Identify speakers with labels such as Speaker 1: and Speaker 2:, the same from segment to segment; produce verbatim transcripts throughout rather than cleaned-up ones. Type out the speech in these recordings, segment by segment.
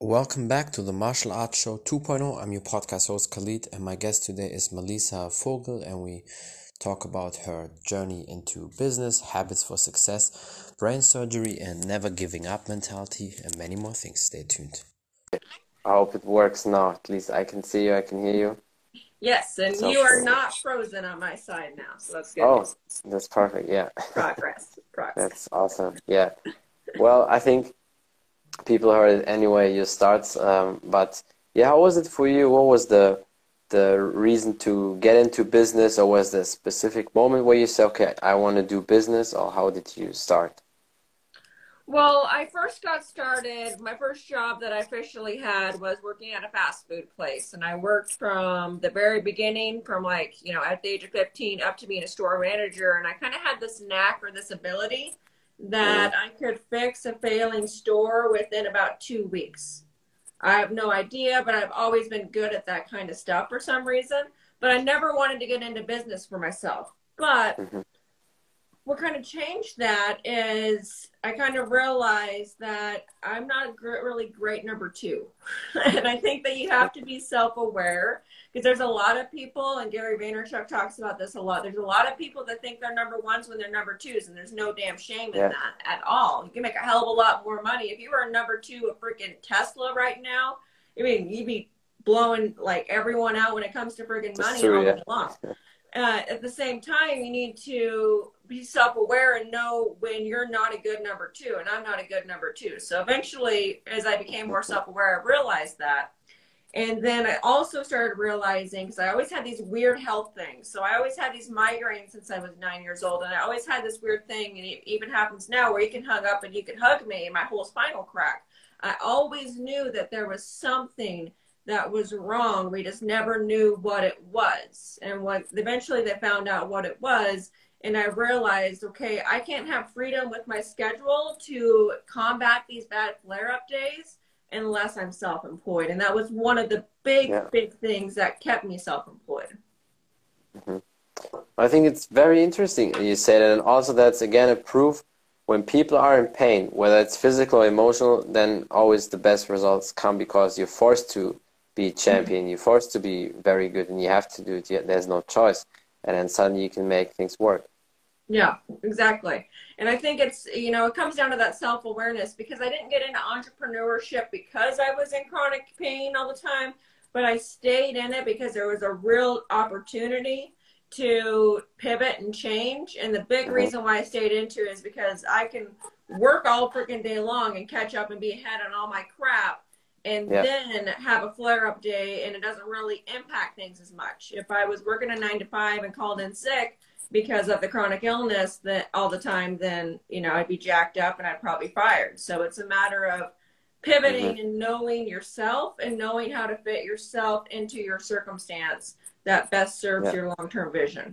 Speaker 1: welcome back to the Martial Arts Show 2.0. I'm your podcast host Khalid, and my guest today is Melissa Vogel, and we talk about her journey into business, habits for success, brain surgery, and never giving up mentality, and many more things. Stay tuned.
Speaker 2: I hope it works now. At least I can see you, I can hear you.
Speaker 3: Yes, and
Speaker 2: So
Speaker 3: you are
Speaker 2: cool.
Speaker 3: not frozen on my side now, so that's good.
Speaker 2: Oh,
Speaker 3: news.
Speaker 2: that's perfect. Yeah.
Speaker 3: Progress. Progress.
Speaker 2: That's awesome. Yeah. Well, I think people heard it anyway, you start. Um, but yeah, how was it for you? What was the the reason to get into business, or was there a specific moment where you said, okay, I want to do business, or how did you start?
Speaker 3: Well, I first got started, my first job that I officially had was working at a fast food place. And I worked from the very beginning, from like, you know, at the age of fifteen up to being a store manager. And I kind of had this knack or this ability that mm-hmm. I could fix a failing store within about two weeks. I have no idea, but I've always been good at that kind of stuff for some reason. But I never wanted to get into business for myself. But mm-hmm. what kind of changed that is I kind of realized that I'm not a gr- really great number two. And I think that you have to be self-aware, because there's a lot of people, and Gary Vaynerchuk talks about this a lot. There's a lot of people that think they're number ones when they're number twos, and there's no damn shame in yeah. that at all. You can make a hell of a lot more money. If you were a number two of freaking Tesla right now, I mean, you'd be blowing like everyone out when it comes to freaking money
Speaker 2: true,
Speaker 3: all
Speaker 2: yeah.
Speaker 3: day long. Uh, at the same time, you need to be self-aware and know when you're not a good number two, and I'm not a good number two. So eventually, as I became more self-aware, I realized that. And then I also started realizing, because I always had these weird health things. So I always had these migraines since I was nine years old, and I always had this weird thing, and it even happens now, where you can hug up and you can hug me, and my whole spinal crack. I always knew that there was something that was wrong. We just never knew what it was. And what eventually they found out what it was, and I realized, okay, I can't have freedom with my schedule to combat these bad flare-up days unless I'm self-employed. And that was one of the big, yeah. big things that kept me self-employed.
Speaker 2: Mm-hmm. I think it's very interesting you say that, and also that's again a proof when people are in pain, whether it's physical or emotional, then always the best results come because you're forced to be champion, you're forced to be very good, and you have to do it. There's no choice, and then suddenly you can make things work.
Speaker 3: Yeah, exactly. And I think it's, you know, it comes down to that self-awareness, because I didn't get into entrepreneurship because I was in chronic pain all the time, but I stayed in it because there was a real opportunity to pivot and change. And the big mm-hmm. reason why I stayed into it is because I can work all freaking day long and catch up and be ahead on all my crap, and yeah. then have a flare-up day, and it doesn't really impact things as much. If I was working a nine to five and called in sick because of the chronic illness that all the time, then, you know, I'd be jacked up and I'd probably fired. So it's a matter of pivoting mm-hmm. and knowing yourself and knowing how to fit yourself into your circumstance that best serves yeah. your long-term vision.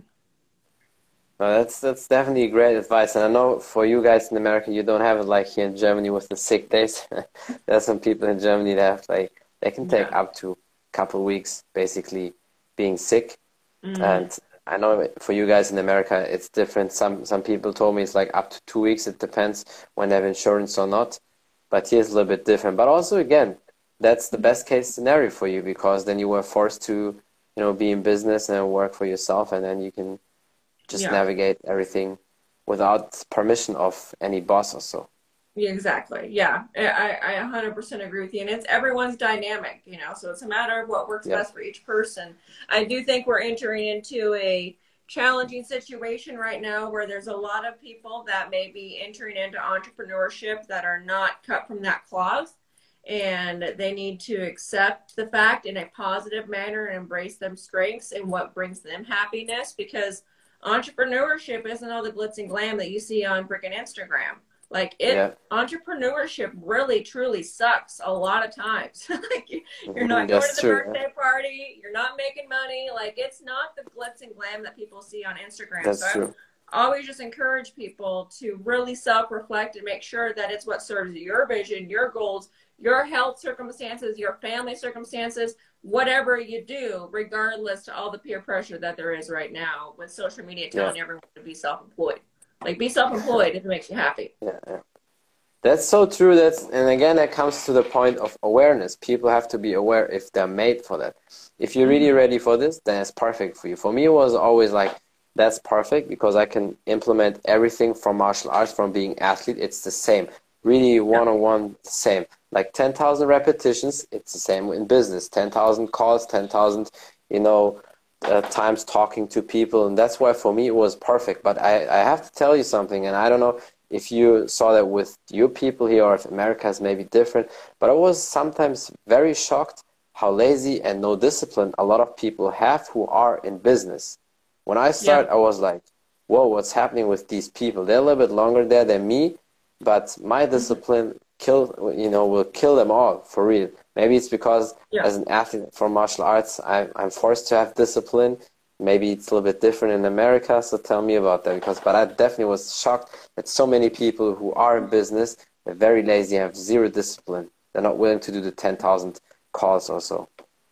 Speaker 2: Well, that's that's definitely great advice, and I know for you guys in America, you don't have it like here in Germany with the sick days. There are some people in Germany that have, like, they can take yeah. up to a couple of weeks basically being sick, mm-hmm. and I know for you guys in America it's different. Some some people told me it's like up to two weeks. It depends when they have insurance or not, but here's a little bit different. But also again, that's the best case scenario for you, because then you were forced to, you know, be in business and work for yourself, and then you can just yeah. navigate everything without permission of any boss or so.
Speaker 3: Yeah, exactly. Yeah, I, I one hundred percent agree with you. And it's everyone's dynamic, you know, so it's a matter of what works yeah. best for each person. I do think we're entering into a challenging situation right now where there's a lot of people that may be entering into entrepreneurship that are not cut from that cloth. And they need to accept the fact in a positive manner and embrace them strengths and what brings them happiness, because entrepreneurship isn't all the glitz and glam that you see on freaking Instagram. Like it, yeah. entrepreneurship really truly sucks a lot of times. Like you're not going to the true, birthday yeah. party, you're not making money. Like it's not the glitz and glam that people see on Instagram.
Speaker 2: That's
Speaker 3: so
Speaker 2: true.
Speaker 3: I always just encourage people to really self-reflect and make sure that it's what serves your vision, your goals, your health circumstances, your family circumstances, whatever you do, regardless to all the peer pressure that there is right now with social media telling yeah. everyone to be self-employed. Like, be self-employed if it makes you happy.
Speaker 2: Yeah, yeah. That's so true. That's, and again, that comes to the point of awareness. People have to be aware if they're made for that. If you're really ready for this, then it's perfect for you. For me, it was always like, that's perfect because I can implement everything from martial arts, from being athlete. It's the same. Really one-on-one, the same. Like ten thousand repetitions, it's the same in business. ten thousand calls, ten thousand, you know, uh, times talking to people. And that's why for me it was perfect. But I, I have to tell you something, and I don't know if you saw that with your people here or if America is maybe different, but I was sometimes very shocked how lazy and no discipline a lot of people have who are in business. When I started, yeah. I was like, whoa, what's happening with these people? They're a little bit longer there than me, but my discipline kill, you know, will kill them all for real. Maybe it's because yeah. as an athlete for martial arts, I, I'm forced to have discipline. Maybe it's a little bit different in America, so tell me about that. Because, but I definitely was shocked that so many people who are in business, they're very lazy, have zero discipline. They're not willing to do the ten thousand calls or so.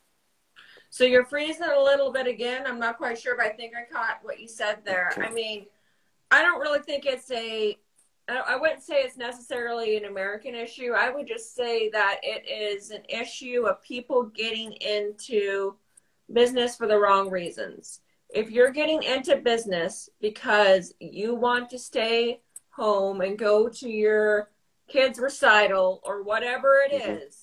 Speaker 3: So you're freezing a little bit again. I'm not quite sure, but I think I caught what you said there. Okay. I mean, I don't really think it's a, I wouldn't say it's necessarily an American issue. I would just say that it is an issue of people getting into business for the wrong reasons. If you're getting into business because you want to stay home and go to your kid's recital or whatever it mm-hmm. is,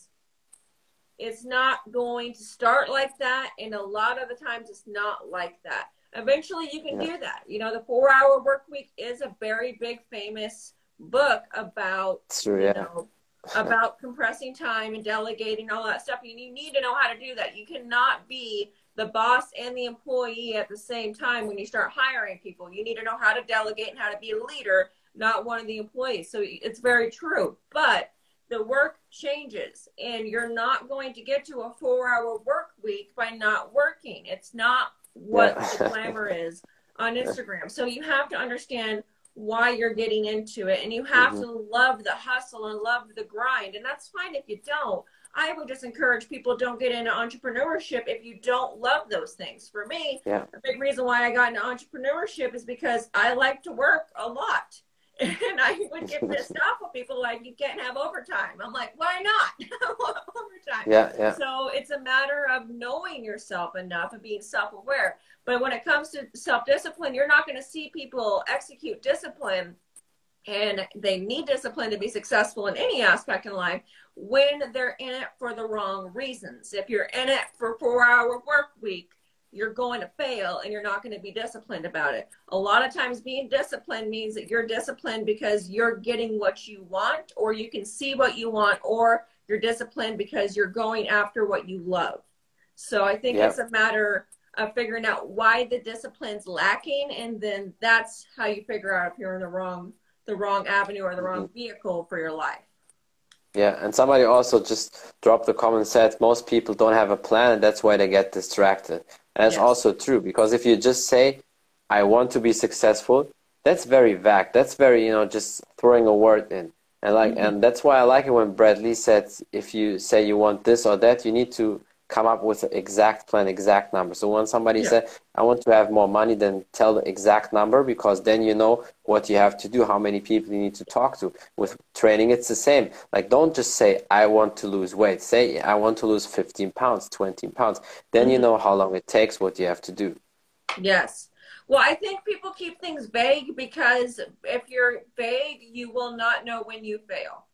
Speaker 3: it's not going to start like that, and a lot of the times it's not like that. Eventually you can yeah. do that. You know, the four hour work week is a very big famous book about
Speaker 2: true,
Speaker 3: you
Speaker 2: yeah.
Speaker 3: know about compressing time and delegating, all that stuff. And you need to know how to do that. You cannot be the boss and the employee at the same time when you start hiring people. You need to know how to delegate and how to be a leader, not one of the employees. So it's very true. But the work changes, and you're not going to get to a four-hour work week by not working. It's not what yeah. the glamour is on Instagram. So you have to understand why you're getting into it, and you have mm-hmm. to love the hustle and love the grind. And that's fine if you don't. I would just encourage people, don't get into entrepreneurship if you don't love those things. For me,
Speaker 2: yeah.
Speaker 3: a big reason why I got into entrepreneurship is because I like to work a lot. And I would get pissed off with people like, you can't have overtime. I'm like, why not? Overtime.
Speaker 2: Yeah, yeah.
Speaker 3: So it's a matter of knowing yourself enough and being self-aware. But when it comes to self-discipline, you're not going to see people execute discipline, and they need discipline to be successful in any aspect in life, when they're in it for the wrong reasons. If you're in it for a four-hour work week, you're going to fail, and you're not going to be disciplined about it. A lot of times being disciplined means that you're disciplined because you're getting what you want, or you can see what you want, or you're disciplined because you're going after what you love. So I think yep. it's a matter of figuring out why the discipline's lacking, and then that's how you figure out if you're in the wrong, the wrong avenue or the wrong vehicle for your life.
Speaker 2: Yeah, and somebody also just dropped the comment, said most people don't have a plan, and that's why they get distracted. And that's yes. also true, because if you just say, I want to be successful, that's very vague. That's very, you know, just throwing a word in. And like, mm-hmm. and that's why I like it when Brad Lea said, if you say you want this or that, you need to come up with an exact plan, exact number. So when somebody yeah. said, I want to have more money, then tell the exact number, because then you know what you have to do, how many people you need to talk to. With training, it's the same. Like, don't just say, I want to lose weight. Say, I want to lose fifteen pounds, twenty pounds. Then mm-hmm. you know how long it takes, what you have to do.
Speaker 3: Yes. Well, I think people keep things vague because if you're vague, you will not know when you fail.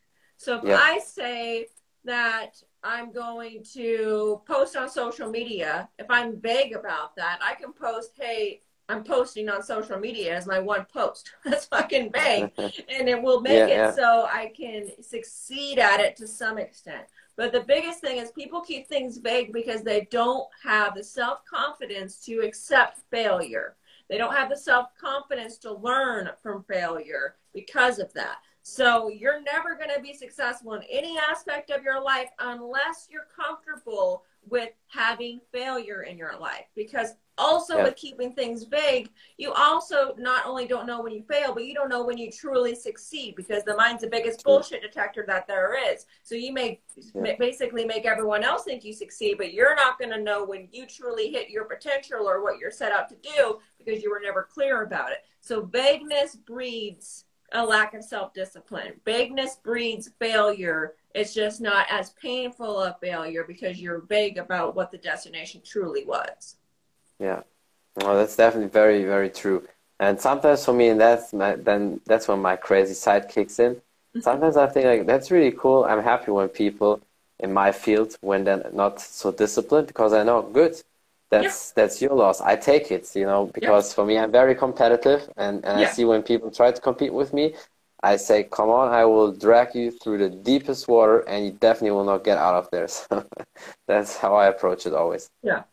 Speaker 3: So if yeah. I say that I'm going to post on social media, if I'm vague about that, I can post, hey, I'm posting on social media as my one post. That's fucking vague. And it will make yeah, it yeah. so I can succeed at it to some extent. But the biggest thing is people keep things vague because they don't have the self-confidence to accept failure. They don't have the self-confidence to learn from failure because of that. So you're never going to be successful in any aspect of your life unless you're comfortable with having failure in your life. Because also yeah. with keeping things vague, you also not only don't know when you fail, but you don't know when you truly succeed, because the mind's the biggest bullshit detector that there is. So you may yeah. basically make everyone else think you succeed, but you're not going to know when you truly hit your potential or what you're set out to do because you were never clear about it. So vagueness breeds a lack of self-discipline. Bigness breeds failure. It's just not as painful a failure because you're vague about what the destination truly was.
Speaker 2: Yeah, well, that's definitely very, very true. And sometimes for me, and that's my, then that's when my crazy side kicks in. Sometimes I think like that's really cool. I'm happy when people in my field, when they're not so disciplined, because I know, good, that's
Speaker 3: Yeah.
Speaker 2: that's your loss. I take it, you know, because
Speaker 3: Yeah.
Speaker 2: for me, I'm very competitive, and, and I
Speaker 3: Yeah.
Speaker 2: see when people try to compete with me, I say, come on, I will drag you through the deepest water, and you definitely will not get out of there. So that's how I approach it always.
Speaker 3: Yeah.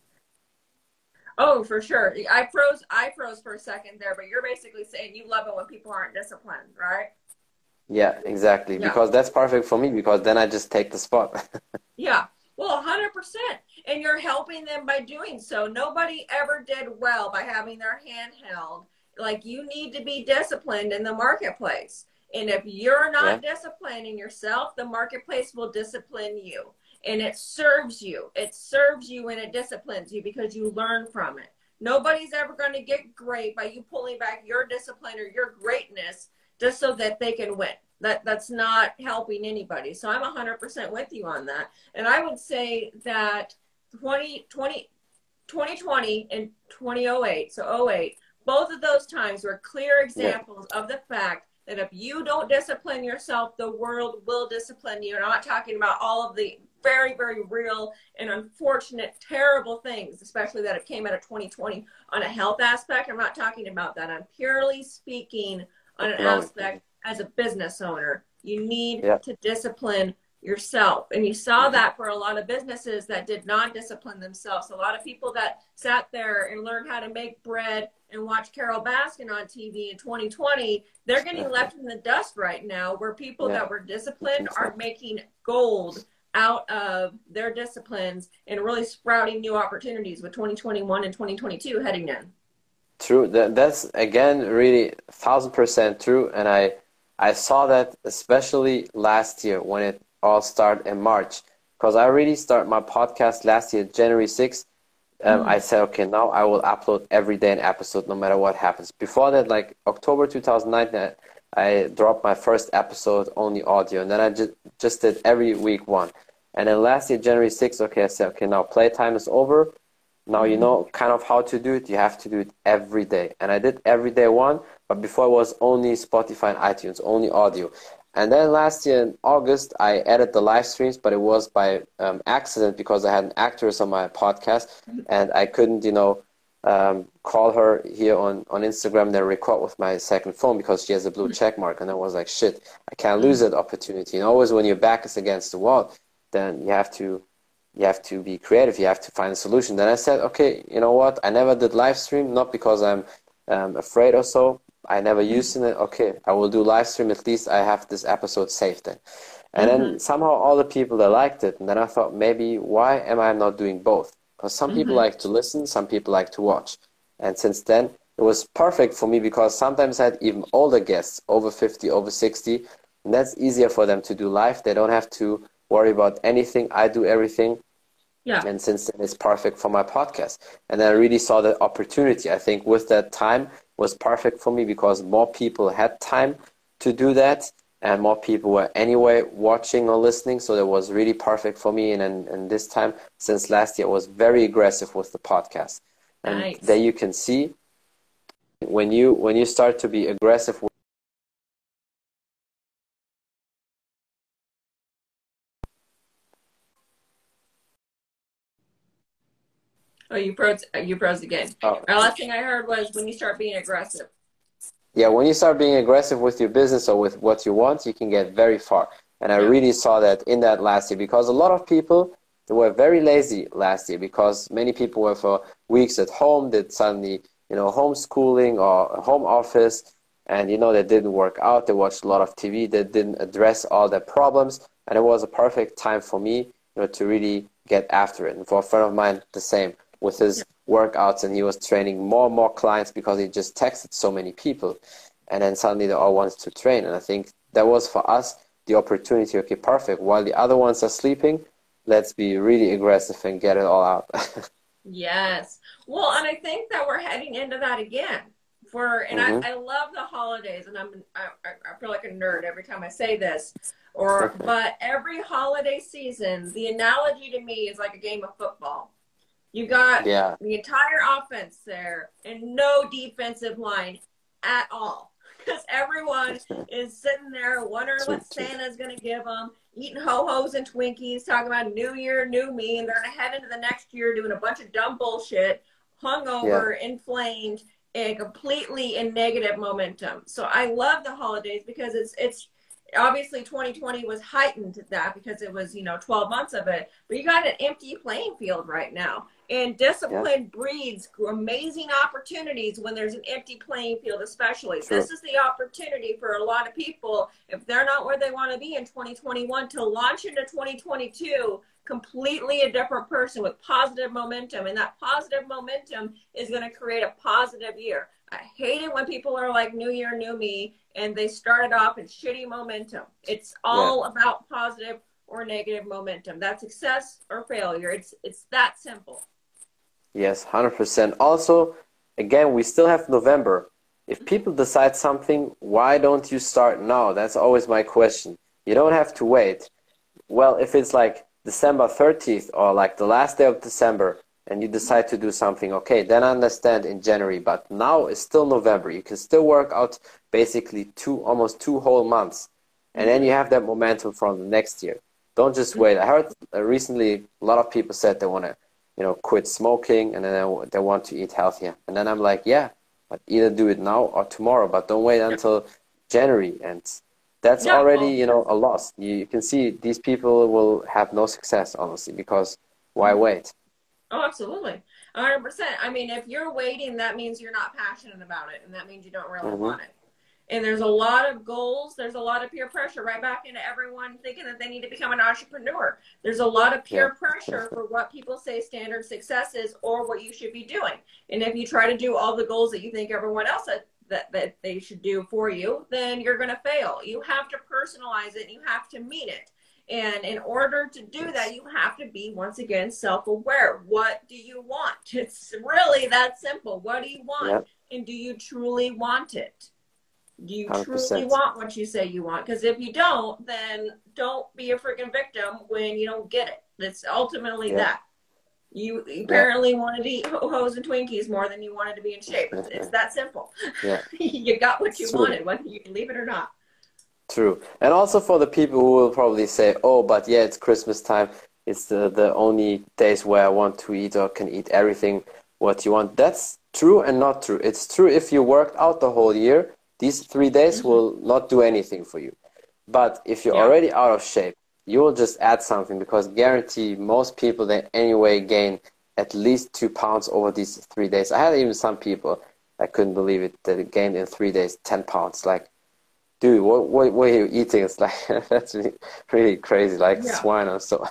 Speaker 3: Oh, for sure. I froze. I froze for a second there, but you're basically saying you love it when people aren't disciplined, right?
Speaker 2: Yeah, exactly.
Speaker 3: Yeah.
Speaker 2: Because that's perfect for me, because then I just take the spot.
Speaker 3: Yeah. Well, one hundred percent. And you're helping them by doing so. Nobody ever did well by having their hand held. Like, you need to be disciplined in the marketplace. And if you're not
Speaker 2: Yeah,
Speaker 3: disciplining yourself, the marketplace will discipline you. And it serves you. It serves you and it disciplines you because you learn from it. Nobody's ever going to get great by you pulling back your discipline or your greatness just so that they can win. That that's not helping anybody. So I'm one hundred percent with you on that. And I would say that twenty twenty, twenty twenty and twenty oh eight, so oh eight, both of those times were clear
Speaker 2: yeah,
Speaker 3: examples of the fact that if you don't discipline yourself, the world will discipline you. And I'm not talking about all of the very, very real and unfortunate, terrible things, especially that it came out of twenty twenty on a health aspect. I'm not talking about that. I'm purely speaking on an
Speaker 2: economically.
Speaker 3: aspect as a business owner. You need
Speaker 2: Yeah,
Speaker 3: to discipline yourself. And you saw that for a lot of businesses that did not discipline themselves. A lot of people that sat there and learned how to make bread and watch Carol Baskin on T V in twenty twenty, they're getting left in the dust right now, where people
Speaker 2: yeah,
Speaker 3: that were
Speaker 2: I
Speaker 3: disciplined
Speaker 2: think
Speaker 3: are
Speaker 2: so.
Speaker 3: making gold out of their disciplines and really sprouting new opportunities with twenty twenty-one and twenty twenty-two heading in.
Speaker 2: True. That that's again really thousand percent true. And I I saw that especially last year when it all started in March. Because I really started my podcast last year, January sixth. Um, I
Speaker 3: Mm-hmm.
Speaker 2: said, okay, now I will upload every day an episode no matter what happens. Before that, like October two thousand nineteen, I, I dropped my first episode, only audio. And then I just, just did every week one. And then last year, January sixth, okay, I said, okay, now playtime is over. Now you
Speaker 3: Mm-hmm.
Speaker 2: know kind of how to do it. You have to do it every day. And I did every day one, but before it was only Spotify and iTunes, only audio. And then last year in August, I added the live streams, but it was by um, accident because I had an actress on my podcast and I couldn't, you know, um, call her here on, on Instagram and then record with my second phone because she has a blue check mark. And I was like, shit, I can't lose that opportunity. And always when your back is against the wall, then you have to you have to be creative. You have to find a solution. Then I said, okay, you know what? I never did live stream, not because I'm um, afraid or so. I never used it. Okay, I will do live stream. At least I have this episode saved then. And
Speaker 3: Mm-hmm.
Speaker 2: then somehow all the people that liked it. And then I thought, maybe why am I not doing both? Because some people
Speaker 3: Mm-hmm.
Speaker 2: like to listen, some people like to watch. And since then, it was perfect for me because sometimes I had even older guests, over fifty, over sixty. And that's easier for them to do live. They don't have to worry about anything. I do everything.
Speaker 3: Yeah.
Speaker 2: And since then, it's perfect for my podcast. And then I really saw the opportunity. I think with that time was perfect for me because more people had time to do that and more people were anyway watching or listening. So that was really perfect for me. And, and, and this time, since last year, I was very aggressive with the podcast. And there
Speaker 3: Nice.
Speaker 2: you can see when you when you start to be aggressive.
Speaker 3: Oh, you froze. You froze again.
Speaker 2: Oh,
Speaker 3: My last thing I heard was when you start being aggressive.
Speaker 2: yeah, when you start being aggressive with your business or with what you want, you can get very far. And I
Speaker 3: Yeah.
Speaker 2: really saw that in that last year because a lot of people they were very lazy last year because many people were for weeks at home, did suddenly, you know, homeschooling or a home office, and you know, they didn't work out, they watched a lot of T V, they didn't address all their problems, and it was a perfect time for me, you know, to really get after it. And for a friend of mine, the same with his workouts, and he was training more and more clients because he just texted so many people, and then suddenly they all wanted to train. And I think that was for us the opportunity. Okay, perfect. While the other ones are sleeping, let's be really aggressive and get it all out.
Speaker 3: Yes. Well, and I think that we're heading into that again. for, and
Speaker 2: Mm-hmm.
Speaker 3: I, I love the holidays, and I'm I, I feel like a nerd every time I say this, or but every holiday season, the analogy to me is like a game of football. You got
Speaker 2: Yeah.
Speaker 3: the entire offense there and no defensive line at all, because everyone is sitting there wondering
Speaker 2: True,
Speaker 3: what
Speaker 2: true.
Speaker 3: Santa's going to give them, eating ho-hos and Twinkies, talking about new year, new me, and they're going to head into the next year doing a bunch of dumb bullshit, hungover,
Speaker 2: Yeah.
Speaker 3: inflamed, and completely in negative momentum. So I love the holidays because it's it's obviously twenty twenty was heightened to that because it was, you know, twelve months of it, but you got an empty playing field right now. And
Speaker 2: Yeah.
Speaker 3: discipline breeds amazing opportunities when there's an empty playing field, especially.
Speaker 2: True.
Speaker 3: This is the opportunity for a lot of people, if they're not where they want to be in twenty twenty-one, to launch into twenty twenty-two completely a different person with positive momentum. And that positive momentum is going to create a positive year. I hate it when people are like, new year, new me, and they started off in shitty momentum. It's all
Speaker 2: Yeah.
Speaker 3: about positive or negative momentum. That's success or failure. It's it's that simple.
Speaker 2: Yes, one hundred percent. Also, again, we still have November. If people decide something, why don't you start now? That's always my question. You don't have to wait. Well, if it's like December thirtieth or like the last day of December and you decide to do something, okay, then I understand in January. But now it's still November. You can still work out basically two, almost two whole months. And then you have that momentum from the next year. Don't just wait. I heard uh, recently a lot of people said they want to, you know, quit smoking and then they, they want to eat healthier. And then I'm like, yeah, but either do it now or tomorrow, but don't wait until January. And that's
Speaker 3: Yeah,
Speaker 2: already,
Speaker 3: well,
Speaker 2: you know, a loss. You, you can see these people will have no success, honestly, because why wait?
Speaker 3: oh, absolutely. one hundred percent. I mean, if you're waiting, that means you're not passionate about it, and that means you don't really
Speaker 2: Mm-hmm.
Speaker 3: want it. And there's a lot of goals. There's a lot of peer pressure right back into everyone thinking that they need to become an entrepreneur. There's a lot of peer
Speaker 2: Yeah.
Speaker 3: pressure for what people say standard success is or what you should be doing. And if you try to do all the goals that you think everyone else that, that, that they should do for you, then you're going to fail. You have to personalize it. And you have to mean it. And in order to do that, you have to be, once again, self-aware. What do you want? It's really that simple. What do you want?
Speaker 2: Yeah.
Speaker 3: And do you truly want it? Do you
Speaker 2: one hundred percent.
Speaker 3: truly want what you say you want? Because if you don't, then don't be a freaking victim when you don't get it. It's ultimately
Speaker 2: Yeah.
Speaker 3: that. You apparently wanted to eat ho-hos and Twinkies more than you wanted to be in shape. It's, it's that simple.
Speaker 2: Yeah.
Speaker 3: You got what you
Speaker 2: True.
Speaker 3: wanted, whether you believe it or not.
Speaker 2: True. And also for the people who will probably say, oh, but yeah, it's Christmas time. It's the, the only days where I want to eat or can eat everything what you want. That's true and not true. It's true if you worked out the whole year. These three days
Speaker 3: Mm-hmm.
Speaker 2: will not do anything for you. But if you're
Speaker 3: Yeah.
Speaker 2: already out of shape, you will just add something because guarantee most people they anyway gain at least two pounds over these three days. I had even some people, I couldn't believe it, that it gained in three days ten pounds. Like, dude, what, what, what are you eating? It's like, that's really, really crazy, like
Speaker 3: Yeah.
Speaker 2: swine or so.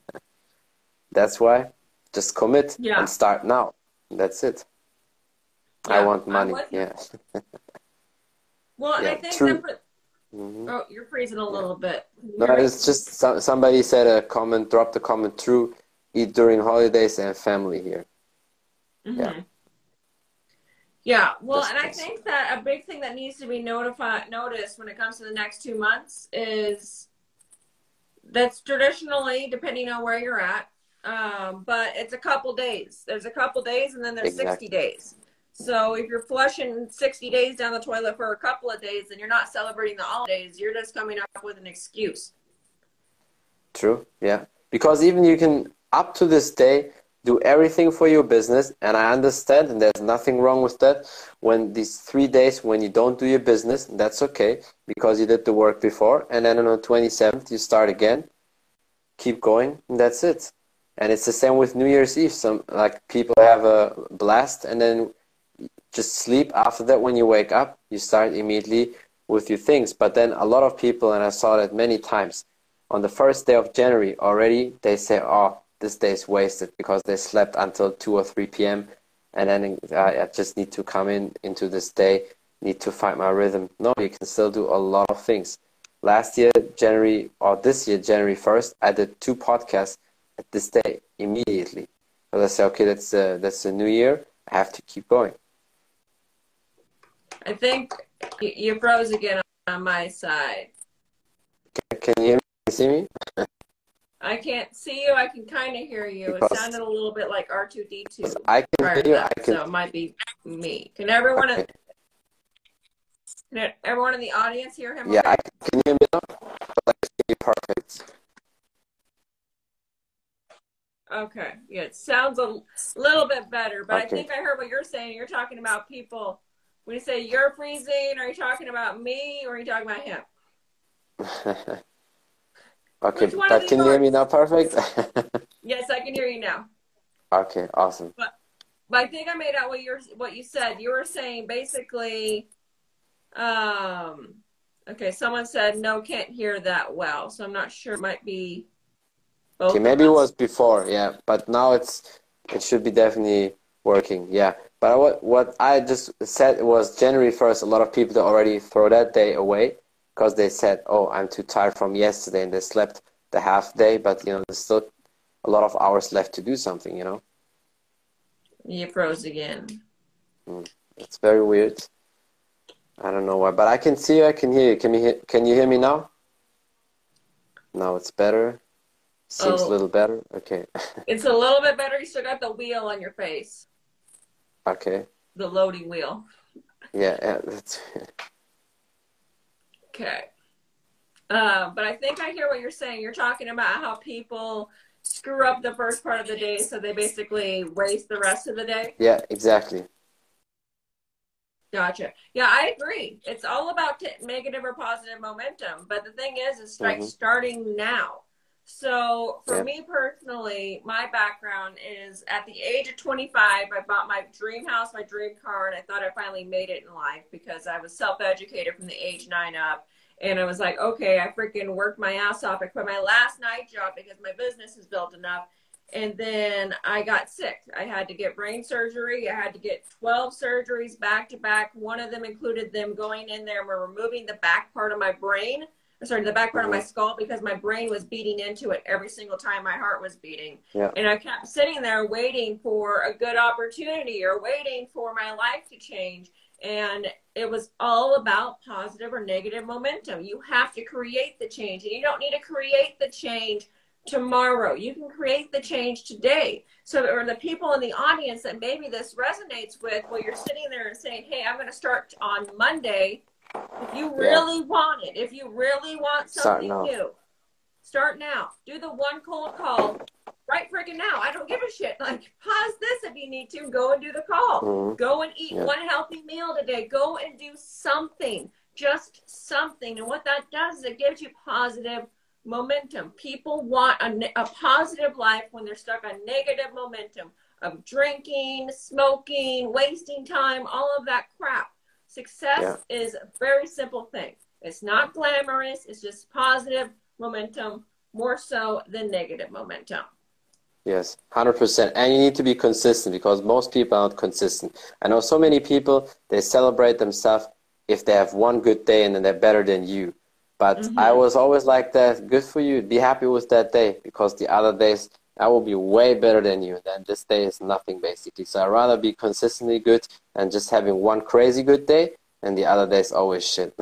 Speaker 2: That's why, just commit
Speaker 3: Yeah.
Speaker 2: and start now. That's it. I
Speaker 3: Yeah,
Speaker 2: want
Speaker 3: I'm
Speaker 2: money,
Speaker 3: with you.
Speaker 2: yeah.
Speaker 3: Well, and
Speaker 2: Yeah,
Speaker 3: I think
Speaker 2: true.
Speaker 3: that for,
Speaker 2: Mhm.
Speaker 3: oh, you're freezing a little bit. Can you
Speaker 2: No,
Speaker 3: hear me?
Speaker 2: it's just some, somebody said a comment, dropped a comment, true, eat during holidays and family here.
Speaker 3: Mm-hmm.
Speaker 2: Yeah.
Speaker 3: Yeah, well,
Speaker 2: That's
Speaker 3: and I
Speaker 2: nice.
Speaker 3: think that a big thing that needs to be notified, noticed when it comes to the next two months is that's traditionally, depending on where you're at, um, but it's a couple days. There's a couple days, and then there's
Speaker 2: Exactly.
Speaker 3: sixty days. So if you're flushing sixty days down the toilet for a couple of days, and you're not celebrating the holidays, you're just coming up with an excuse.
Speaker 2: True, yeah. Because even you can, up to this day, do everything for your business, and I understand, and there's nothing wrong with that. When these three days, when you don't do your business, that's okay, because you did the work before, and then on the twenty-seventh, you start again, keep going, and that's it. And it's the same with New Year's Eve. Some, like, people have a blast, and then just sleep. After that, when you wake up, you start immediately with your things. But then a lot of people, and I saw that many times, on the first day of January already, they say, oh, this day is wasted because they slept until two or three p m and then I, I just need to come in into this day, need to find my rhythm. No, you can still do a lot of things. Last year, January, or this year, January first, I did two podcasts at this day immediately. Because I said, okay, that's a, that's a new year. I have to keep going.
Speaker 3: I think you, you froze again on my side.
Speaker 2: Can you hear me? Can you see me?
Speaker 3: I can't see you. I can kind of hear you. It
Speaker 2: Because
Speaker 3: sounded a little bit like R two D two
Speaker 2: I can
Speaker 3: prior
Speaker 2: hear
Speaker 3: to
Speaker 2: you.
Speaker 3: that,
Speaker 2: I can.
Speaker 3: so it might be me. Can everyone,
Speaker 2: Okay.
Speaker 3: can everyone in the audience hear him?
Speaker 2: Yeah,
Speaker 3: Okay.
Speaker 2: I can, can you hear me now? I can hear you perfect.
Speaker 3: Okay. Yeah, it sounds a little bit better, but
Speaker 2: Okay.
Speaker 3: I think I heard what you're saying. You're talking about people. When you say you're freezing, are you talking about me or are you talking about him?
Speaker 2: Okay,
Speaker 3: Which one
Speaker 2: but
Speaker 3: of
Speaker 2: can
Speaker 3: these
Speaker 2: you hear me
Speaker 3: works?
Speaker 2: now perfect?
Speaker 3: Yes, I can hear you now.
Speaker 2: Okay, awesome.
Speaker 3: But, but I think I made out what you're what you said. You were saying basically, um, okay. Someone said no, can't hear that well, so I'm not sure. It might be both
Speaker 2: Okay,
Speaker 3: of
Speaker 2: maybe it
Speaker 3: us.
Speaker 2: was before, yeah, but now it's it should be definitely working, yeah. But what what I just said was January first. A lot of people already throw that day away because they said, "Oh, I'm too tired from yesterday," and they slept the half day. But you know, there's still a lot of hours left to do something. You know,
Speaker 3: You froze again.
Speaker 2: mm. It's very weird. I don't know why, but I can see you. I can hear you. Can you hear, can you hear me now? Now it's better. Seems a
Speaker 3: Oh,
Speaker 2: little better. Okay.
Speaker 3: it's a little bit better. You still got the wheel on your face,
Speaker 2: Okay.
Speaker 3: the loading wheel.
Speaker 2: Yeah. Yeah, that's
Speaker 3: Okay. Uh, but I think I hear what you're saying. You're talking about how people screw up the first part of the day, so they basically waste the rest of the day.
Speaker 2: yeah, exactly.
Speaker 3: Gotcha. Yeah, I agree. It's all about t- negative or positive momentum. But the thing is, is like
Speaker 2: Mm-hmm.
Speaker 3: starting now. So for
Speaker 2: Yeah.
Speaker 3: me personally, my background is at the age of twenty-five, I bought my dream house, my dream car, and I thought I finally made it in life because I was self-educated from the age nine up. And I was like, okay, I freaking worked my ass off. I quit my last night job because my business is built enough. And then I got sick. I had to get brain surgery. I had to get twelve surgeries back to back. One of them included them going in there and removing the back part of my brain. Sorry, the back part
Speaker 2: Mm-hmm.
Speaker 3: of my skull because my brain was beating into it every single time my heart was beating.
Speaker 2: Yeah.
Speaker 3: And I kept sitting there waiting for a good opportunity or waiting for my life to change. And it was all about positive or negative momentum. You have to create the change, and you don't need to create the change tomorrow. You can create the change today. So, or the people in the audience that maybe this resonates with, well, you're sitting there and saying, hey, I'm going to start on Monday. If you really yeah. want it, if you really want something new, start now. Do the one cold call right freaking now. I don't give a shit. Like, pause this if you need to. Go and do the call. Mm-hmm. Go and eat yeah. one healthy meal today. Go and do something. Just something. And what that does is it gives you positive momentum. People want a, a positive life when they're stuck on negative momentum of drinking, smoking, wasting time, all of that crap. Success yeah. is a very simple thing. It's not glamorous. It's just positive momentum, more so than negative momentum.
Speaker 2: Yes, one hundred percent. And you need to be consistent because most people are not consistent. I know so many people, they celebrate themselves if they have one good day and then they're better than you. But mm-hmm. I was always like that. Good for you. Be happy with that day because the other days I will be way better than you. Then this day is nothing basically. So I'd rather be consistently good and just having one crazy good day and the other days always shit.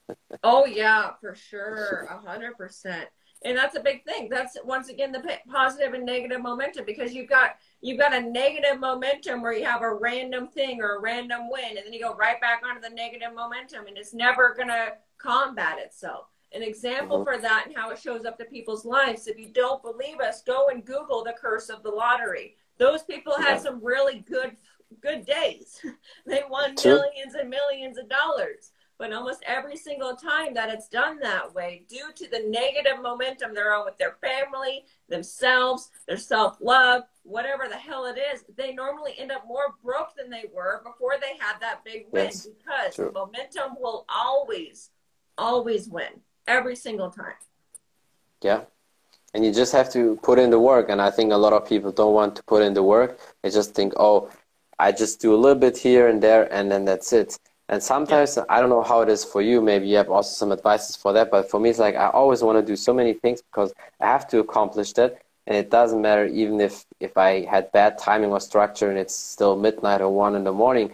Speaker 3: Oh yeah, for sure. A hundred percent. And that's a big thing. That's once again the positive and negative momentum because you've got you've got a negative momentum where you have a random thing or a random win, and then you go right back onto the negative momentum, and it's never gonna combat itself. An example mm-hmm. for that and how it shows up to people's lives. If you don't believe us, go and Google the curse of the lottery. Those people had yeah. some really good good days. They won True. millions and millions of dollars. But almost every single time that it's done that way, due to the negative momentum they're on with their family, themselves, their self-love, whatever the hell it is, they normally end up more broke than they were before they had that big win yes. because True. momentum will always, always win every single time.
Speaker 2: Yeah. And you just have to put in the work. And I think a lot of people don't want to put in the work. They just think, oh, I just do a little bit here and there, and then that's it. And sometimes, yeah. I don't know how it is for you, maybe you have also some advices for that, but for me it's like I always want to do so many things because I have to accomplish that, and it doesn't matter even if, if I had bad timing or structure and it's still midnight or one in the morning,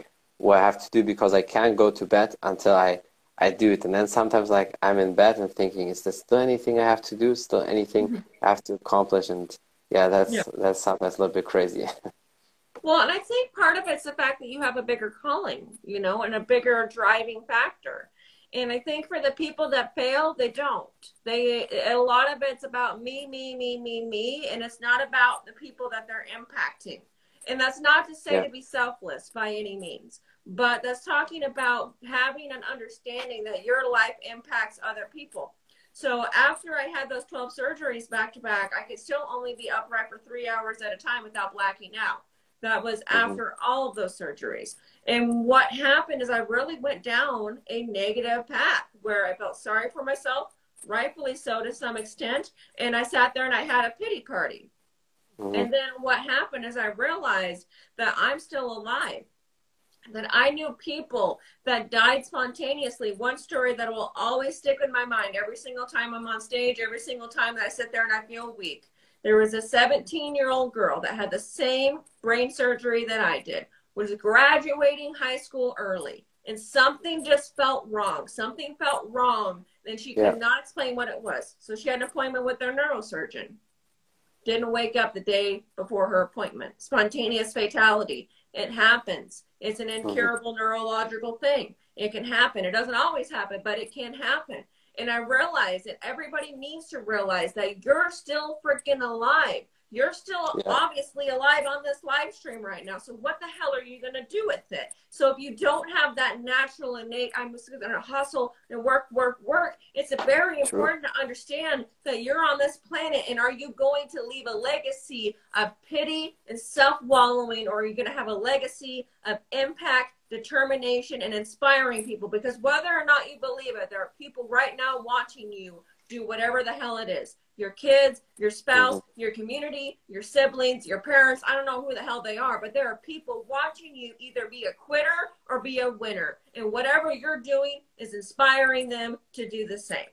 Speaker 2: what I have to do because I can't go to bed until I I do it. And then sometimes like I'm in bed and thinking, is there still anything I have to do? Still anything
Speaker 3: Mm-hmm.
Speaker 2: I have to accomplish? And yeah, that's
Speaker 3: Yeah.
Speaker 2: that's sometimes a little bit crazy.
Speaker 3: Well, and I think part of it's the fact that you have a bigger calling, you know, and a bigger driving factor. And I think for the people that fail, they don't. They a lot of it's about me, me, me, me, me, and it's not about the people that they're impacting. And that's not to say
Speaker 2: Yeah.
Speaker 3: to be selfless by any means, but that's talking about having an understanding that your life impacts other people. So after I had those twelve surgeries back to back, I could still only be upright for three hours at a time without blacking out. That was after all of those surgeries. And what happened is I really went down a negative path where I felt sorry for myself, rightfully so to some extent. And I sat there and I had a pity party.
Speaker 2: Mm-hmm.
Speaker 3: And then what happened is I realized that I'm still alive, that I knew people that died spontaneously. One story that will always stick in my mind every single time I'm on stage, every single time that I sit there and I feel weak. There was a seventeen-year-old girl that had the same brain surgery that I did, was graduating high school early, and something just felt wrong. Something felt wrong, and she
Speaker 2: Yeah.
Speaker 3: could not explain what it was. So she had an appointment with their neurosurgeon. Didn't wake up the day before her appointment. Spontaneous fatality. It happens. It's an incurable neurological thing. It can happen. It doesn't always happen, but it can happen. And I realize that everybody needs to realize that you're still freaking alive. You're still
Speaker 2: Yeah.
Speaker 3: obviously alive on this live stream right now. So what the hell are you going to do with it? So if you don't have that natural innate, I'm just going to hustle and work, work, work, it's very important to understand that you're on this planet, and are you going to leave a legacy of pity and self-wallowing, or are you going to have a legacy of impact, determination, and inspiring people? Because whether or not you believe it, there are people right now watching you do whatever the hell it is. Your kids, your spouse, mm-hmm. your community, your siblings, your parents. I don't know who the hell they are, but there are people watching you either be a quitter or be a winner. And whatever you're doing is inspiring them to do the same.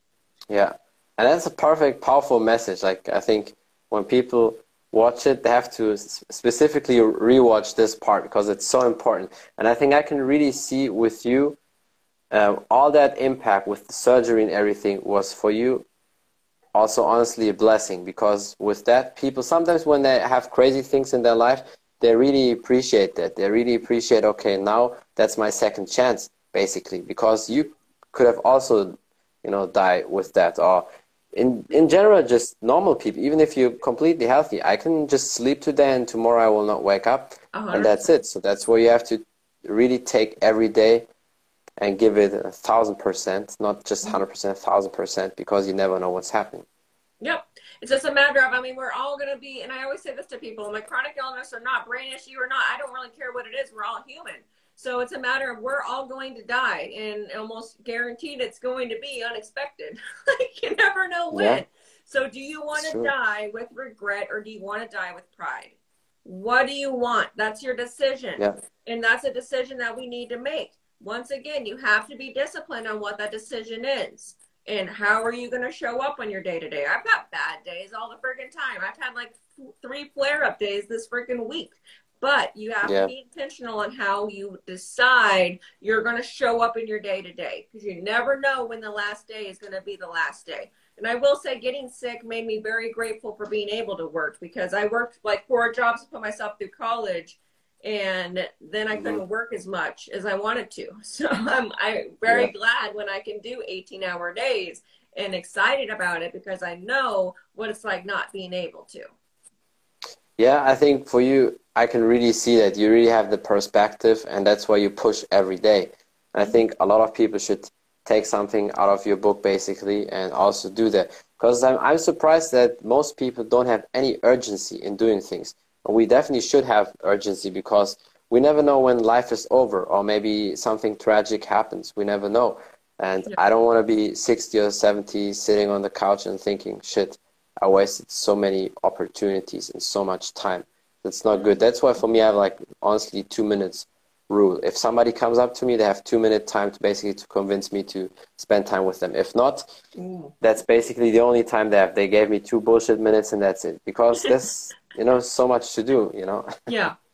Speaker 2: Yeah. And that's a perfect, powerful message. Like, I think when people watch it, they have to specifically rewatch this part because it's so important. And I think I can really see with you, uh, all that impact with the surgery and everything was for you also honestly a blessing, because with that, people sometimes when they have crazy things in their life, they really appreciate that. They really appreciate, okay, now that's my second chance, basically, because you could have also, you know, die with that. Or in, in general, just normal people, even if you're completely healthy, I can just sleep today and tomorrow I will not wake up, uh-huh. and that's it. So that's where you have to really take every day and give it a thousand percent, not just hundred percent, a thousand percent, because you never know what's happening.
Speaker 3: Yep. It's just a matter of, I mean, we're all going to be, and I always say this to people, like chronic illness or not, brain issue or not, I don't really care what it is. We're all human. So it's a matter of we're all going to die, and almost guaranteed it's going to be unexpected. Like, you never know when. Yeah. So do you want to die with regret, or do you want to die with pride? What do you want? That's your decision.
Speaker 2: Yeah.
Speaker 3: And that's a decision that we need to make. Once again, you have to be disciplined on what that decision is. And how are you going to show up on your day-to-day? I've got bad days all the freaking time. I've had like three flare-up days this freaking week. But you have
Speaker 2: yeah.
Speaker 3: to be intentional on how you decide you're going to show up in your day-to-day. Because you never know when the last day is going to be the last day. And I will say getting sick made me very grateful for being able to work. Because I worked like four jobs to put myself through college. And then I couldn't work as much as I wanted to. So I'm, I'm very yeah. glad when I can do eighteen hour days, and excited about it because I know what it's like not being able to.
Speaker 2: Yeah, I think for you, I can really see that you really have the perspective, and that's why you push every day. And I think a lot of people should take something out of your book basically and also do that. Because I'm, I'm surprised that most people don't have any urgency in doing things. We definitely should have urgency, because we never know when life is over, or maybe something tragic happens. We never know. And yeah. I don't want to be sixty or seventy sitting on the couch and thinking, shit, I wasted so many opportunities and so much time. That's not good. That's why for me, I have like, honestly, two minutes rule. If somebody comes up to me, they have two minute time to basically to convince me to spend time with them. If not, mm. that's basically the only time they have. They gave me two bullshit minutes and that's it. Because there's, you know, so much to do, you know?
Speaker 3: Yeah.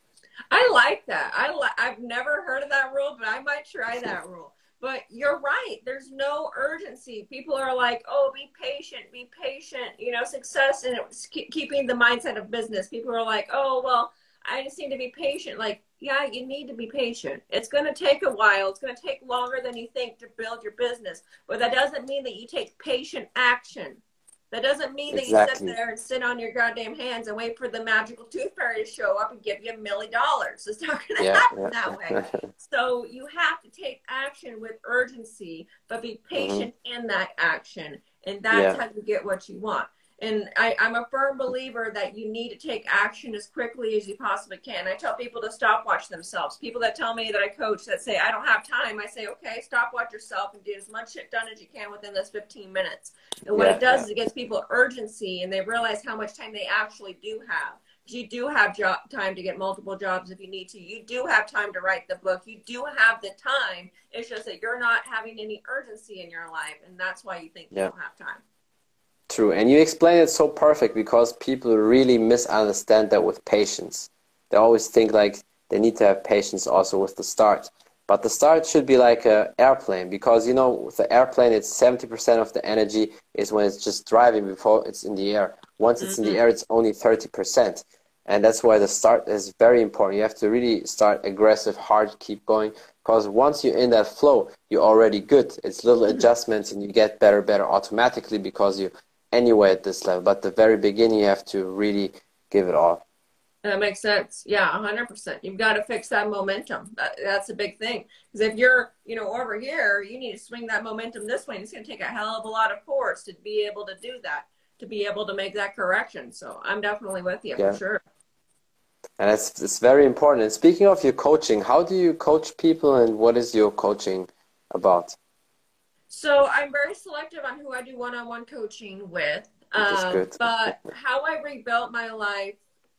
Speaker 3: I like that. I li I've never heard of that rule, but I might try that rule. But you're right. There's no urgency. People are like, oh, be patient, be patient. You know, success and it's keeping the mindset of business. People are like, oh, well, I just need to be patient. Like, yeah, you need to be patient. It's going to take a while. It's going to take longer than you think to build your business. But that doesn't mean that you take patient action. That doesn't mean that
Speaker 2: Exactly.
Speaker 3: you sit there and sit on your goddamn hands and wait for the magical tooth fairy to show up and give you a million dollars. It's not going to
Speaker 2: Yeah,
Speaker 3: happen
Speaker 2: yeah.
Speaker 3: that way. So you have to take action with urgency, but be patient
Speaker 2: Mm-hmm.
Speaker 3: in that action. And that's
Speaker 2: Yeah.
Speaker 3: how you get what you want. And I, I'm a firm believer that you need to take action as quickly as you possibly can. I tell people to stopwatch themselves. People that tell me that I coach that say, I don't have time, I say, okay, stopwatch yourself and get as much shit done as you can within this fifteen minutes. And what
Speaker 2: Yeah,
Speaker 3: it does
Speaker 2: yeah.
Speaker 3: is it gives people urgency and they realize how much time they actually do have. You do have job time to get multiple jobs if you need to. You do have time to write the book. You do have the time. It's just that you're not having any urgency in your life. And that's why you think you
Speaker 2: Yeah.
Speaker 3: don't have time.
Speaker 2: True. And you explain it so perfect because people really misunderstand that with patience. They always think like they need to have patience also with the start. But the start should be like an airplane because, you know, with the airplane, it's seventy percent of the energy is when it's just driving before it's in the air. Once it's in the air, it's only thirty percent. And that's why the start is very important. You have to really start aggressive, hard, keep going. Because once you're in that flow, you're already good. It's little adjustments and you get better, better automatically because you anyway at this level. But the very beginning, you have to really give it all.
Speaker 3: That makes sense. Yeah, one hundred percent. You've got to fix that momentum. That, that's a big thing. Because if you're, you know, over here, you need to swing that momentum this way. And it's going to take a hell of a lot of force to be able to do that, to be able to make that correction. So I'm definitely with you
Speaker 2: Yeah.
Speaker 3: for sure.
Speaker 2: And it's, it's very important. And speaking of your coaching, how do you coach people and what is your coaching about?
Speaker 3: So I'm very selective on who I do one-on-one coaching with.
Speaker 2: Which is
Speaker 3: Um,
Speaker 2: good.
Speaker 3: but how I rebuilt my life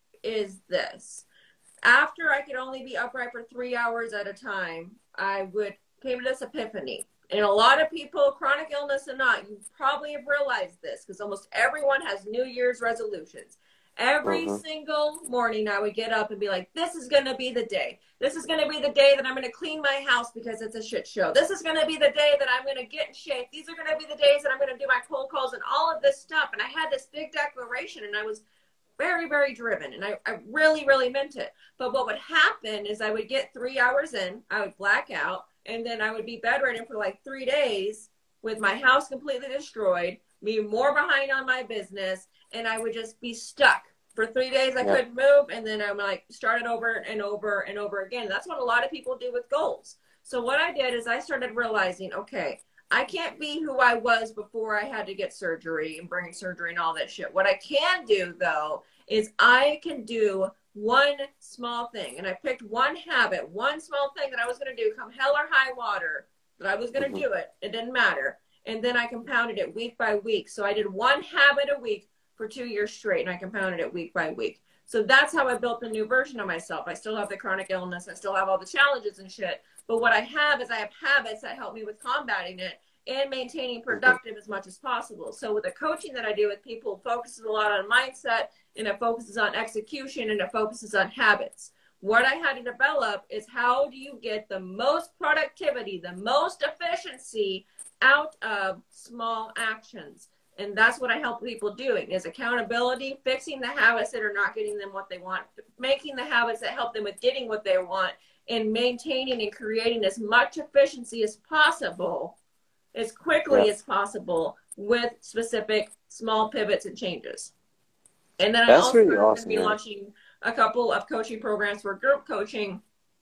Speaker 3: is this. After I could only be upright for three hours at a time, I would came to this epiphany. And a lot of people, chronic illness or not, you probably have realized this because almost everyone has New Year's resolutions. Every
Speaker 2: Mhm.
Speaker 3: single morning I would get up and be like, this is going to be the day. This is going to be the day that I'm going to clean my house because it's a shit show. This is going to be the day that I'm going to get in shape. These are going to be the days that I'm going to do my cold calls and all of this stuff. And I had this big declaration and I was very, very driven. And I, I really, really meant it. But what would happen is I would get three hours in, I would black out, and then I would be bedridden for like three days with my house completely destroyed, be more behind on my business, and I would just be stuck. For three days, I
Speaker 2: Yeah.
Speaker 3: couldn't move, and then I'm like, started over and over and over again. That's what a lot of people do with goals. So what I did is I started realizing, okay, I can't be who I was before I had to get surgery and brain surgery and all that shit. What I can do, though, is I can do one small thing. And I picked one habit, one small thing that I was going to do, come hell or high water, that I was going to
Speaker 2: Mhm.
Speaker 3: do it. It didn't matter. And then I compounded it week by week. So I did one habit a week for two years straight, and I compounded it week by week. So that's how I built a new version of myself. I still have the chronic illness. I still have all the challenges and shit. But what I have is I have habits that help me with combating it and maintaining productive as much as possible. So with the coaching that I do with people, it focuses a lot on mindset, and it focuses on execution, and it focuses on habits. What I had to develop is how do you get the most productivity, the most efficiency out of small actions. And that's what I help people doing is accountability, fixing the habits that are not getting them what they want, making the habits that help them with getting what they want, and maintaining and creating as much efficiency as possible, as quickly
Speaker 2: Yeah.
Speaker 3: as possible with specific small pivots and changes. And then I
Speaker 2: That's
Speaker 3: also
Speaker 2: really
Speaker 3: am going to
Speaker 2: awesome,
Speaker 3: be
Speaker 2: yeah.
Speaker 3: launching a couple of coaching programs for group coaching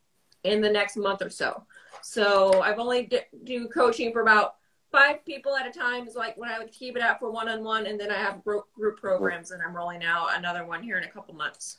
Speaker 3: in the next month or so. So I've only d- do coaching for about five people at a time is like when I would keep it out for one-on-one, and then I have group group programs, and I'm rolling out another one here in a couple months.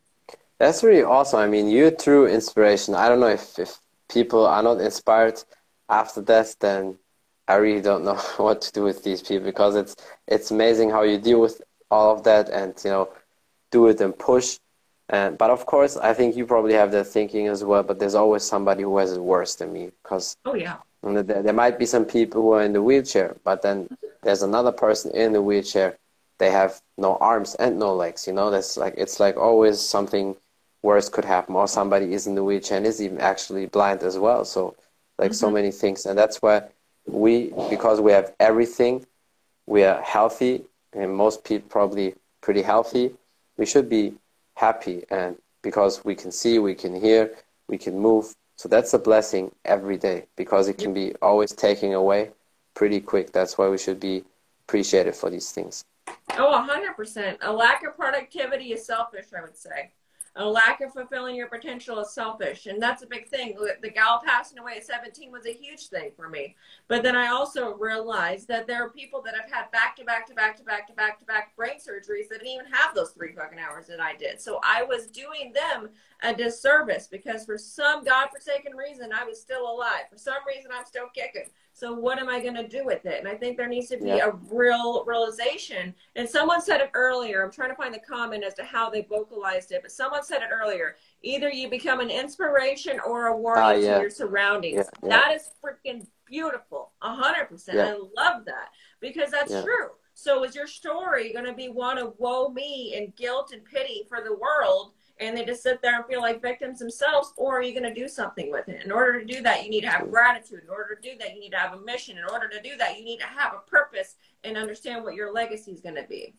Speaker 2: That's really awesome. I mean, you're true inspiration. I don't know if, if people are not inspired after that, then I really don't know what to do with these people because it's it's amazing how you deal with all of that and, you know, do it and push. And, but of course, I think you probably have that thinking as well, but there's always somebody who has it worse than me because
Speaker 3: Oh yeah.
Speaker 2: you know, there, there might be some people who are in the wheelchair, but then there's another person in the wheelchair. They have no arms and no legs, you know, that's like, it's like always something worse could happen, or somebody is in the wheelchair and is even actually blind as well. So like mm-hmm. so many things. And that's why we, because we have everything, we are healthy, and most people probably pretty healthy, we should be happy. And because we can see, we can hear, we can move. So that's a blessing every day, because it can be always taken away pretty quick. That's why we should be appreciated for these things.
Speaker 3: Oh, one hundred percent. A lack of productivity is selfish, I would say. A lack of fulfilling your potential is selfish. And that's a big thing. The gal passing away at seventeen was a huge thing for me. But then I also realized that there are people that have had back to back to back to back to back to back brain surgeries that didn't even have those three fucking hours that I did. So I was doing them a disservice, because for some godforsaken reason, I was still alive. For some reason, I'm still kicking. So what am I going to do with it? And I think there needs to be yeah. a real realization. And someone said it earlier. I'm trying to find the comment as to how they vocalized it. But someone said it earlier. Either you become an inspiration or a warning uh, yeah. to your surroundings. Yeah, yeah. That is freaking beautiful. one hundred percent. Yeah. I love that, because that's yeah. true. So is your story going to be one of woe me and guilt and pity for the world, and they just sit there and feel like victims themselves? Or are you going to do something with it? In order to do that, you need to have gratitude. In order to do that, you need to have a mission. In order to do that, you need to have a purpose and understand what your legacy is going to be.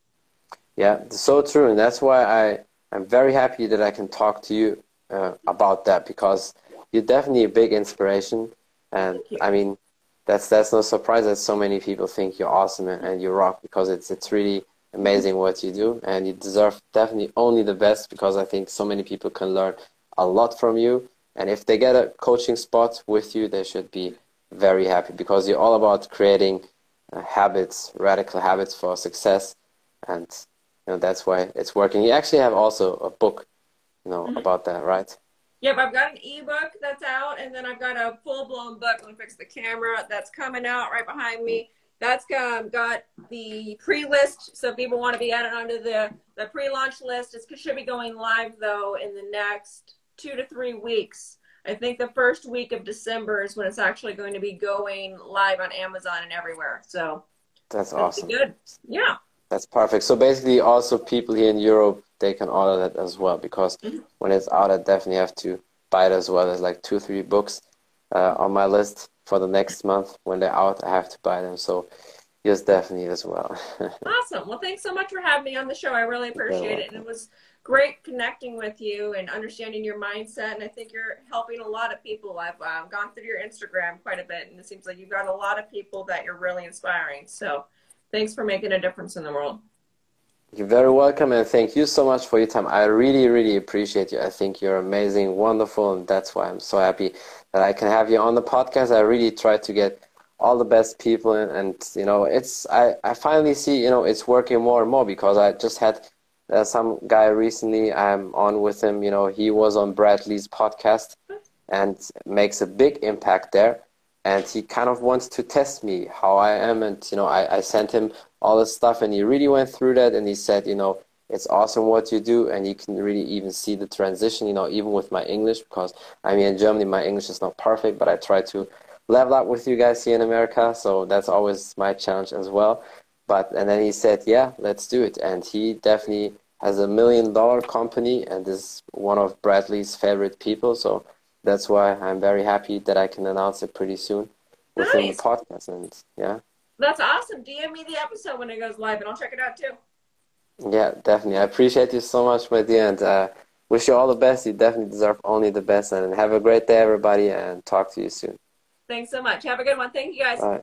Speaker 2: Yeah, so true. And that's why I, I'm very happy that I can talk to you uh, about that, because you're definitely a big inspiration. And I mean, that's that's no surprise that so many people think you're awesome and, and you rock, because it's it's really amazing what you do, and you deserve definitely only the best, because I think so many people can learn a lot from you. And if they get a coaching spot with you, they should be very happy, because you're all about creating uh, habits, radical habits for success. And you know, that's why it's working. You actually have also a book, you know, mm-hmm. about that, right?
Speaker 3: Yep, I've got an ebook that's out, and then I've got a full-blown book. Let me fix the camera. That's coming out right behind me. That's um, got the pre-list, so if people want to be added onto the, the pre-launch list. It should be going live, though, in the next two to three weeks. I think the first week of December is when it's actually going to be going live on Amazon and everywhere. So
Speaker 2: that's awesome.
Speaker 3: Good. Yeah.
Speaker 2: That's perfect. So basically, also people here in Europe, they can order that as well, because mm-hmm. when it's out, I definitely have to buy it as well. There's like two, three books uh, on my list for the next month. When they're out, I have to buy them. So yes, definitely as well.
Speaker 3: Awesome. Well, thanks so much for having me on the show. I really appreciate it. And it was great connecting with you and understanding your mindset. And I think you're helping a lot of people. I've um, gone through your Instagram quite a bit, and it seems like you've got a lot of people that you're really inspiring. So thanks for making a difference in the world.
Speaker 2: You're very welcome, and thank you so much for your time. I really, really appreciate you. I think you're amazing, wonderful, and that's why I'm so happy that I can have you on the podcast. I really try to get all the best people, and, and you know, it's I, I finally see, you know, it's working more and more, because I just had uh, some guy recently, I'm on with him, you know, he was on Bradley's podcast and makes a big impact there. And he kind of wants to test me how I am. And, you know, I, I sent him all this stuff, and he really went through that. And he said, you know, it's awesome what you do. And you can really even see the transition, you know, even with my English, because I mean, in Germany, my English is not perfect, but I try to level up with you guys here in America. So that's always my challenge as well. But, and then he said, yeah, let's do it. And he definitely has a million dollar company and is one of Bradley's favorite people. So that's why I'm very happy that I can announce it pretty soon within nice. the podcast. And yeah.
Speaker 3: That's awesome. D M me the episode when it goes live, and I'll check it out too.
Speaker 2: Yeah, definitely. I appreciate you so much, my dear, and uh, wish you all the best. You definitely deserve only the best. And have a great day, everybody, and talk to you soon.
Speaker 3: Thanks so much. Have a good one. Thank you, guys.
Speaker 2: Bye.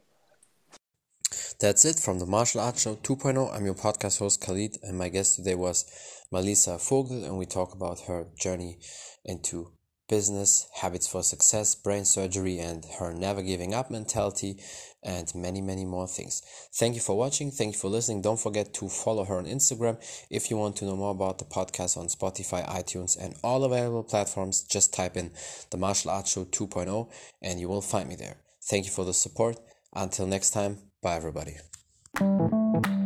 Speaker 1: That's it from the Martial Arts Show two point oh. I'm your podcast host, Khalid, and my guest today was Melissa Vogel, and we talk about her journey into business, habits for success, brain surgery, and her never giving up mentality, and many, many more things. Thank you for watching. Thank you for listening. Don't forget to follow her on Instagram. If you want to know more about the podcast on Spotify, iTunes, and all available platforms, just type in the Martial Arts Show two point oh and you will find me there. Thank you for the support. Until next time, bye everybody.